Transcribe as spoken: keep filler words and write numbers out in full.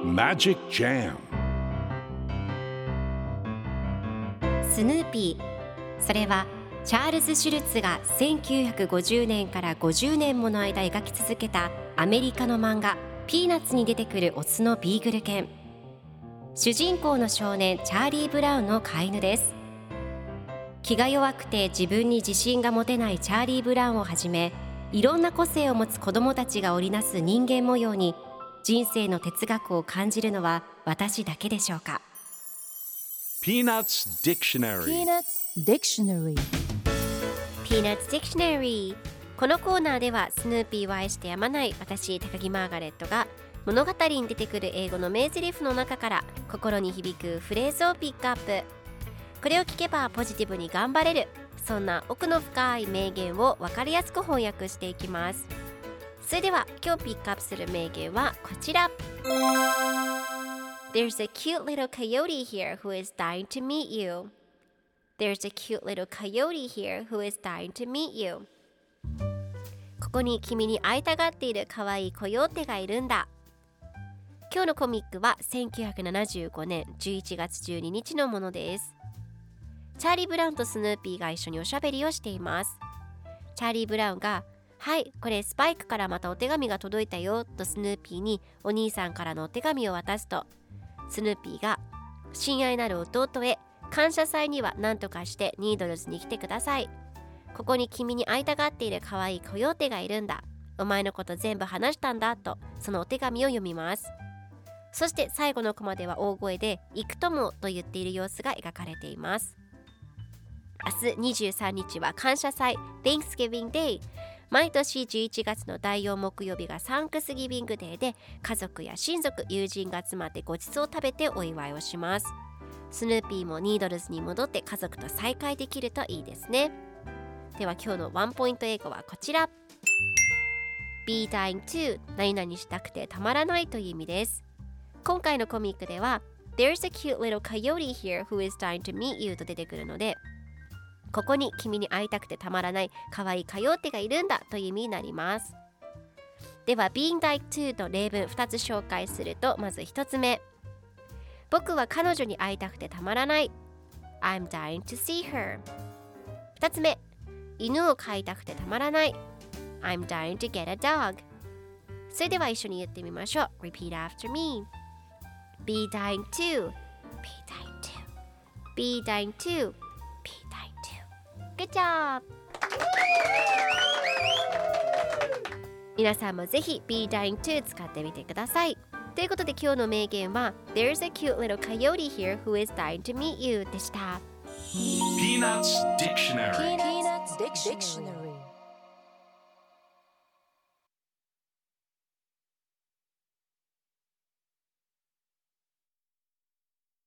Magic Jam スヌーピー、それはチャールズ・シュルツがせんきゅうひゃくごじゅうねんからごじゅうねんもの間描き続けたアメリカの漫画ピーナッツに出てくるオスのビーグル犬。主人公の少年チャーリー・ブラウンの飼い犬です。気が弱くて自分に自信が持てないチャーリー・ブラウンをはじめ、いろんな個性を持つ子どもたちが織りなす人間模様に人生の哲学を感じるのは私だけでしょうか。 Peanuts Dictionary Peanuts Dictionary Peanuts Dictionary。 このコーナーではスヌーピーを愛してやまない私高木マーガレットが物語に出てくる英語の名台詞の中から心に響くフレーズをピックアップ。これを聞けばポジティブに頑張れる、そんな奥の深い名言を分かりやすく翻訳していきます。それでは今日ピックアップする名言はこちら。 There's a cute little coyote here who is dying to meet you. There's a cute little coyote here who is dying to meet you. ここに君に会いたがっている可愛いコヨーテがいるんだ。今日のコミックはせんきゅうひゃくななじゅうごねんじゅういちがつじゅうににちのものです。チャーリー・ブラウンとスヌーピーが一緒におしゃべりをしています。チャーリー・ブラウンが、はい、これスパイクからまたお手紙が届いたよとスヌーピーにお兄さんからのお手紙を渡すと、スヌーピーが、親愛なる弟へ、感謝祭には何とかしてニードルズに来てください。ここに君に会いたがっている可愛いコヨーテがいるんだ。お前のこと全部話したんだと、そのお手紙を読みます。そして最後のコマでは大声で行くともと言っている様子が描かれています。明日にじゅうさんにちは感謝祭 Thanksgiving Day。 毎年じゅういちがつのだいよん木曜日がサンクスギビングデーで、家族や親族、友人が集まってごちそうを食べてお祝いをします。スヌーピーもニードルズに戻って家族と再会できるといいですね。では今日のワンポイント英語はこちら。 Be dying to 何々したくてたまらないという意味です。今回のコミックでは There's a cute little coyote here who is dying to meet you と出てくるので、ここに君に会いたくてたまらない可愛いコヨーテがいるんだという意味になります。では Being dying to の例文ふたつ紹介すると、まずひとつめ、僕は彼女に会いたくてたまらない。 I'm dying to see her。 ふたつめ、犬を飼いたくてたまらない。 I'm dying to get a dog。 それでは一緒に言ってみましょう。 Repeat after me。 Be dying to Be dying to Be dying to Be dying to Good job。 皆さんもぜひ Be dying to 使ってみてください。ということで今日の名言は There's a cute little coyote here who is dying to meet you でした。 Peanuts Dictionary Peanuts Dictionary